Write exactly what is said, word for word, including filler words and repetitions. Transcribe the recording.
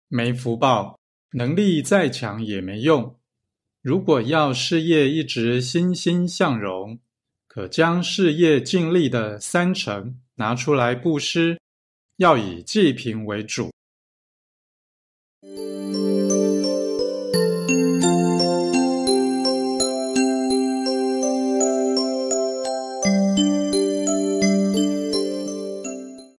没福报，能力再强也没用。如果要事业一直欣欣向荣，可将事业净利的三成拿出来布施，要以济贫为主。